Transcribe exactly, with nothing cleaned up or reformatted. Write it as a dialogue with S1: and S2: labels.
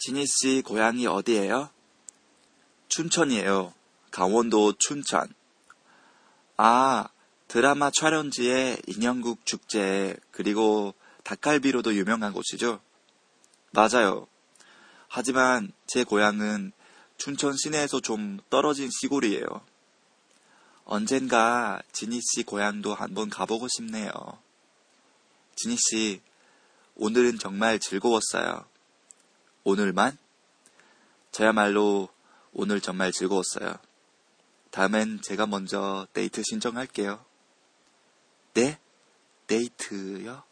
S1: 지니 씨 고향이 어디예요? 춘천이에요. 강원도 춘천. 아, 드라마 촬영지에 인형국 축제 그리고 닭갈비로도 유명한 곳이죠? 맞아요. 하지만 제 고향은 춘천 시내에서 좀 떨어진 시골이에요. 언젠가 지니 씨 고향도 한번 가보고 싶네요. 지니 씨, 오늘은 정말 즐거웠어요. 오늘만? 저야말로 오늘 정말 즐거웠어요. 다음엔 제가 먼저 데이트 신청할게요. 네? 데이트요?